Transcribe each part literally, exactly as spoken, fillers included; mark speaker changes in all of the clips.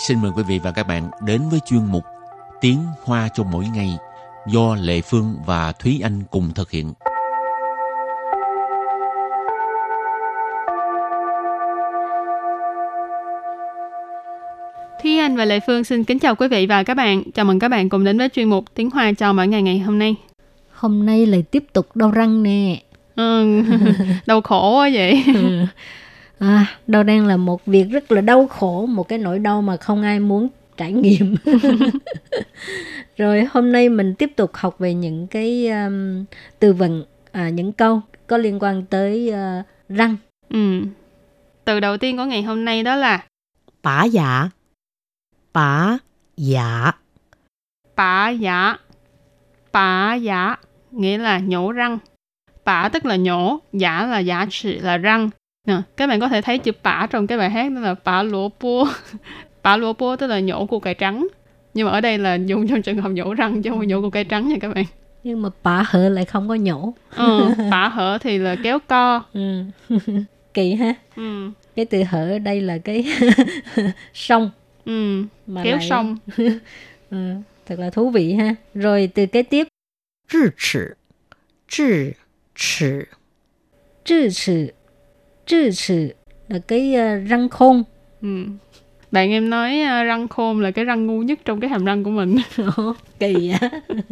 Speaker 1: xin mời quý vị và các bạn đến với chuyên mục Tiếng Hoa cho mỗi ngày do Lệ Phương và Thúy Anh cùng thực hiện.
Speaker 2: Thúy Anh và Lệ Phương xin kính chào quý vị và các bạn. Chào mừng các bạn cùng đến với chuyên mục Tiếng Hoa cho mỗi ngày ngày hôm nay.
Speaker 3: Hôm nay lại tiếp tục đau răng nè.
Speaker 2: Ừ, đau khổ quá vậy.
Speaker 3: Ừ. À, đau răng là một việc rất là đau khổ, một cái nỗi đau mà không ai muốn trải nghiệm. Rồi hôm nay mình tiếp tục học về những cái um, từ vựng, à, những câu có liên quan tới uh, răng.
Speaker 2: Ừ. Từ đầu tiên của ngày hôm nay đó là
Speaker 4: bả dạ. Bả dạ.
Speaker 2: bả dạ. Bả dạ nghĩa là nhổ răng. Bả tức là nhổ, giả là giả trị là răng. Nè, các bạn có thể thấy chữ bả trong cái bài hát đó là bả lúa bô. Bả lúa bô tức là nhổ củ cải trắng. Nhưng mà ở đây là dùng trong trường hợp nhổ răng chứ không phải nhổ củ cải trắng nha các bạn.
Speaker 3: Nhưng mà bả hở lại không có nhổ.
Speaker 2: Ừ, bả hở thì là kéo co.
Speaker 3: Ừ. Kỳ ha.
Speaker 2: Ừ.
Speaker 3: Cái từ hở ở đây là cái song.
Speaker 2: Ừ,
Speaker 3: mà
Speaker 2: kéo
Speaker 3: lại...
Speaker 2: song.
Speaker 3: Ừ, thật là thú vị ha. Rồi từ kế tiếp.
Speaker 4: Zhi chỉ. Zhi chỉ.
Speaker 3: Zhi chỉ. Zhi chỉ là cái uh, răng khôn.
Speaker 2: Ừ. Bạn em nói uh, răng khôn là cái răng ngu nhất trong cái hàm răng của mình.
Speaker 3: Kỳ á.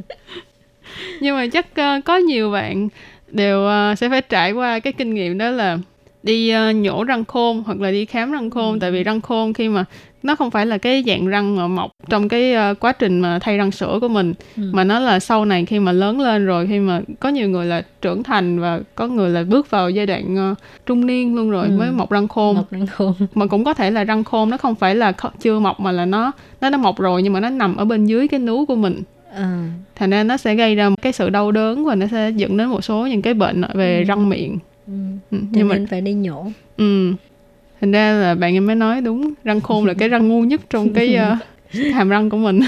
Speaker 2: Nhưng mà chắc uh, có nhiều bạn đều uh, sẽ phải trải qua cái kinh nghiệm đó là đi uh, nhổ răng khôn hoặc là đi khám răng khôn. Ừ. Tại vì răng khôn khi mà nó không phải là cái dạng răng mà mọc trong cái uh, quá trình mà thay răng sữa của mình. Ừ. Mà nó là sau này khi mà lớn lên rồi, khi mà có nhiều người là trưởng thành và có người là bước vào giai đoạn uh, trung niên luôn rồi. Ừ. Mới mọc răng khôn.
Speaker 3: Mọc răng khôn.
Speaker 2: Mà cũng có thể là răng khôn nó không phải là chưa mọc mà là nó nó đã mọc rồi nhưng mà nó nằm ở bên dưới cái núi của mình. À. Thành ra nó sẽ gây ra một cái sự đau đớn và nó sẽ dẫn đến một số những cái bệnh về ừ. răng miệng.
Speaker 3: Ừ. Ừ. Nhưng mà phải đi nhổ.
Speaker 2: Ừ. Thành ra là bạn em mới nói đúng, răng khôn là cái răng ngu nhất trong cái uh, hàm răng của mình.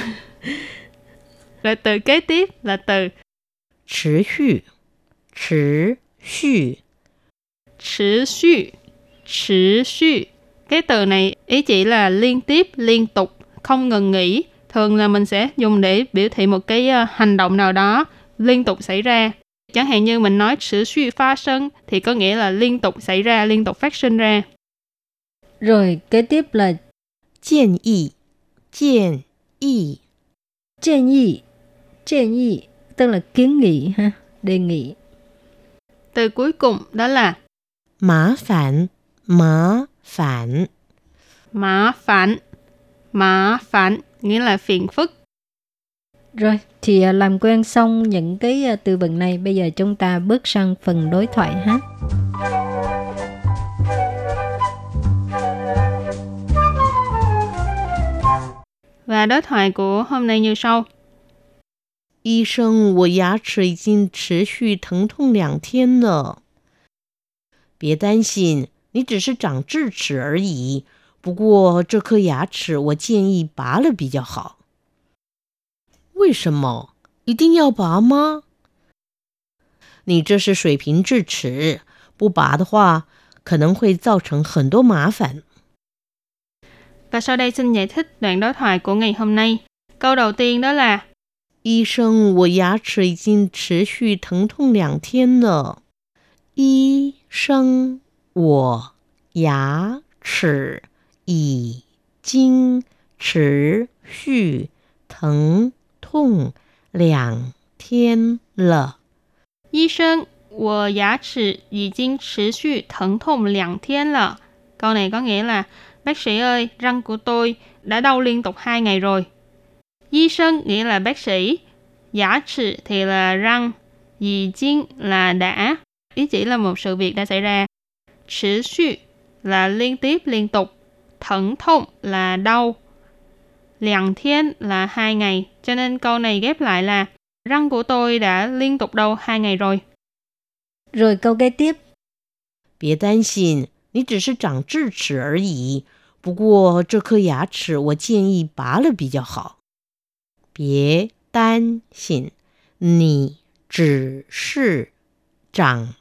Speaker 2: Rồi từ kế tiếp là từ
Speaker 4: Trì xu. Trì xu.
Speaker 2: Trì xu. Trì xu. Cái từ này ý chỉ là liên tiếp, liên tục, không ngừng nghỉ. Thường là mình sẽ dùng để biểu thị một cái uh, hành động nào đó liên tục xảy ra. Chẳng hạn như mình nói trì xu phát sinh thì có nghĩa là liên tục xảy ra, liên tục phát sinh ra.
Speaker 3: Rồi kế tiếp là
Speaker 4: 建議.建議.
Speaker 3: 建議.建議tức là kiến nghị ha, đề nghị.
Speaker 2: Từ cuối cùng đó là
Speaker 4: Mã phản. Mã phản.
Speaker 2: Mã phản. Mã phản nghĩa là phiền phức.
Speaker 3: Rồi, thì làm quen xong những cái từ vựng này, bây giờ chúng ta bước sang phần đối thoại ha.
Speaker 2: Và đối thoại của hôm nay như sau.
Speaker 4: 醫生，我牙齒已經持續疼痛兩天了。別擔心，你只是長智齒而已。不過這顆牙齒我建議拔了比較好。為什麼？一定要拔嗎？你這是水平智齒，不拔的話，可能會造成很多麻煩。
Speaker 2: Và sau đây xin giải thích đoạn đối thoại của ngày hôm nay. Câu đầu tiên đó là
Speaker 4: 醫生，我牙齒已經持續疼痛兩天了。醫生，我牙齒已經持續疼痛兩天了。
Speaker 2: 醫生，我牙齒已經持續疼痛兩天了. Câu này có nghĩa là bác sĩ ơi, răng của tôi đã đau liên tục hai ngày rồi. Y sinh nghĩa là bác sĩ, giả trị thì là răng, dì chính là đã, ý chỉ là một sự việc đã xảy ra. Trì xu là liên tiếp, liên tục. Thẩn thông là đau. Liang thiên là hai ngày. Cho nên câu này ghép lại là răng của tôi đã liên tục đau hai ngày rồi.
Speaker 3: Rồi câu kế tiếp.
Speaker 4: 別擔心，你只是長智齒而已。不過這顆牙齒我建議拔了比較好。別擔心，你只是長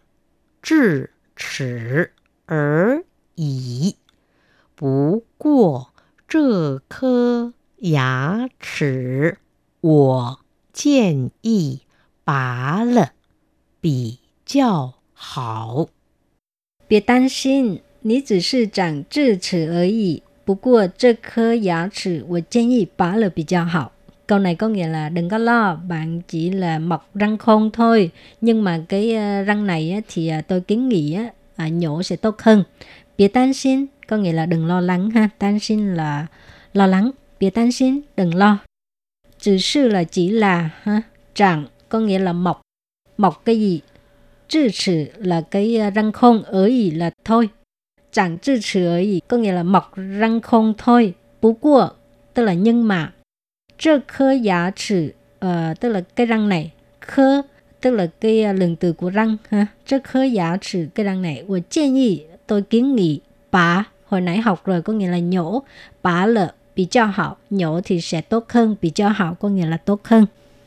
Speaker 4: 智齒而已。不過這顆牙齒我建議拔了比較好。
Speaker 3: 別擔心，你只是長智齒而已。不過這顆牙齒我建議拔了比較好. Câu này có nghĩa là đừng có lo, bạn chỉ là mọc răng khôn thôi. Nhưng mà cái răng này thì tôi kiến nghị nhổ sẽ tốt hơn. Biệt tan xin có nghĩa là đừng lo lắng ha. Tan xin là lo lắng. Biệt tan xin đừng lo. Chỉ sư là chỉ là ha. Trạng có nghĩa là mọc. Mọc cái gì?智齒là cái răng khôn, ở ý là thôi. Trạng智齒ở ý có nghĩa là mọc răng khôn thôi. Bú của tức là nhưng mà. Trơ khơ giá trị uh, tức là cái răng này. Khơ tức là cái lượng từ của răng ha. Trơ khơ giá trị cái răng này. Tôi建議, tôi kiến nghị bá, hồi nãy học rồi có nghĩa là nhổ. Bá là bị cho hảo, nhổ thì sẽ tốt hơn. Bị cho hảo có nghĩa là tốt hơn.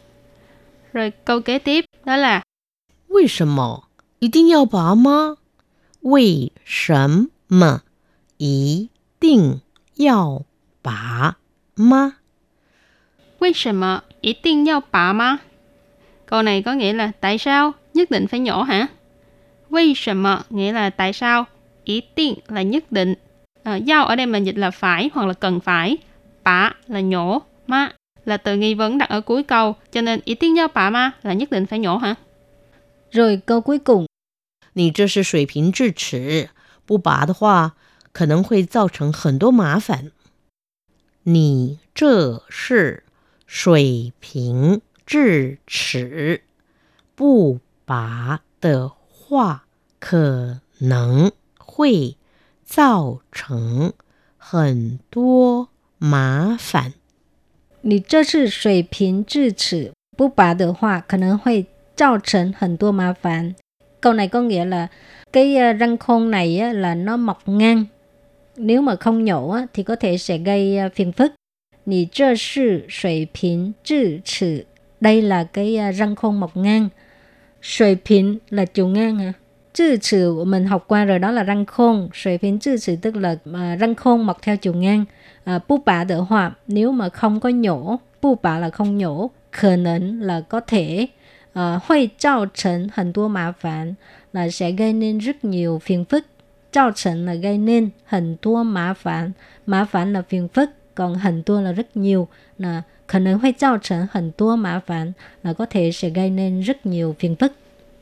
Speaker 2: Rồi câu kế tiếp đó là
Speaker 4: 為什麼一定要拔嗎？為什麼一定要拔嗎？
Speaker 2: 為什麼一定要拔嗎? Câu này có nghĩa là tại sao nhất định phải nhổ hả? 為什麼 nghĩa là tại sao, 一定 là nhất định, à, giao ở đây mình dịch là phải hoặc là cần phải, bá là nhổ, ma là từ nghi vấn đặt ở cuối câu, cho nên 一定要拔嗎 là nhất định phải nhổ hả?
Speaker 3: Rồi câu cuối cùng.
Speaker 4: 你這是水平智齒，不拔的話可能會造成很多麻煩。你這是水平智齒，不拔的話可能會造成很多麻煩。
Speaker 3: 你這是水平智齒，不拔的話可能會造成很多麻煩. Câu này có nghĩa là cái răng khôn này là nó mọc ngang. Nếu mà không nhổ thì có thể sẽ gây phiền phức. Nì trơ sư suy bình智齒. Đây là cái răng khôn mọc ngang. Suy bình là chiều ngang hả?智齒mình học qua rồi, đó là răng khôn. Suy bình智齒tức là răng khôn mọc theo chiều ngang. Bú bả đỡ hòa, nếu mà không có nhổ. Bú bả là không nhổ. Khả năng là có thể. Hội tạo thành很多麻煩 là sẽ gây nên rất nhiều phiền phức. Tạo thành là gây nên, 很多麻煩 麻煩là phiền phức, còn 很多là rất nhiều, là khả năng hội tạo thành 很多麻煩 là có thể sẽ gây nên rất nhiều phiền phức.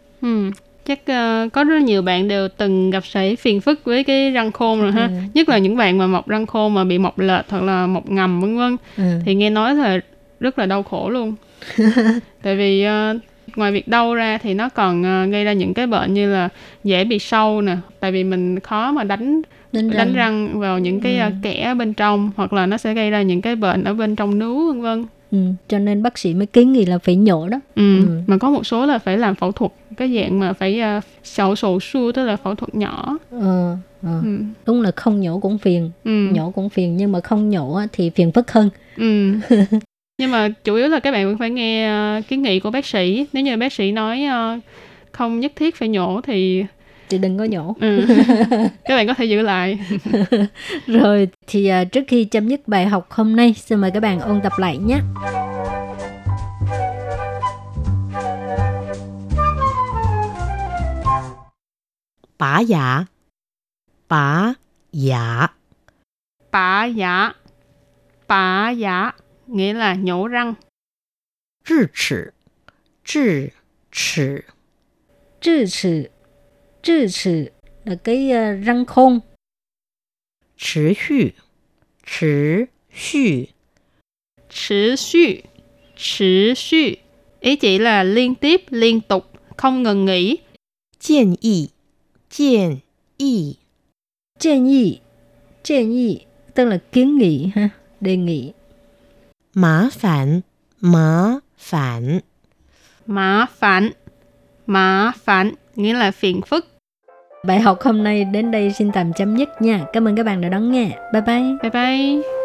Speaker 2: Ừ, chắc uh, có rất nhiều bạn đều từng gặp phải phiền phức với cái răng khôn rồi ha. Ừ. Nhất là những bạn mà mọc răng khôn mà bị mọc lệch hoặc là mọc ngầm vân vân. Ừ. Thì nghe nói là rất là đau khổ luôn. Tại vì uh, ngoài việc đau ra thì nó còn uh, gây ra những cái bệnh như là dễ bị sâu nè, tại vì mình khó mà đánh đánh răng, đánh răng vào những cái ừ. uh, kẽ bên trong, hoặc là nó sẽ gây ra những cái bệnh ở bên trong nướu vân vân.
Speaker 3: Ừ, cho nên bác sĩ mới kiến nghị là phải nhổ đó.
Speaker 2: Ừ, ừ. Mà có một số là phải làm phẫu thuật, cái dạng mà phải uh, sầu sổ su, tức là phẫu thuật nhỏ.
Speaker 3: Ờ, ờ. Ừ. Đúng là không nhổ cũng phiền,
Speaker 2: ừ.
Speaker 3: nhổ cũng phiền, nhưng mà không nhổ thì phiền phức hơn.
Speaker 2: Ừ. Nhưng mà chủ yếu là các bạn vẫn phải nghe uh, kiến nghị của bác sĩ. Nếu như bác sĩ nói uh, không nhất thiết phải nhổ thì
Speaker 3: thì đừng có nhổ.
Speaker 2: Ừ. Các bạn có thể giữ lại.
Speaker 3: Rồi thì uh, trước khi chấm dứt bài học hôm nay, xin mời các bạn ôn tập lại nhé.
Speaker 4: Bá giả. Bá giả.
Speaker 2: Bá giả. Bá giả nghĩa là nhổ răng.
Speaker 4: 智齒.智齒.
Speaker 3: 智齒.智齒là cái uh, răng khôn.
Speaker 4: 持續.持續.
Speaker 2: 持續.持續. Ý chỉ là liên tiếp, liên tục, không ngừng nghỉ.
Speaker 4: 建議.建議.
Speaker 3: 建議.建議tức là kiến nghị ha, đề nghị.
Speaker 4: Má phản. Má phản.
Speaker 2: Má phản. Má phản nghĩa là phiền phức.
Speaker 3: Bài học hôm nay đến đây xin tạm chấm dứt nha. Cảm ơn các bạn đã đón nghe. Bye bye.
Speaker 2: Bye bye.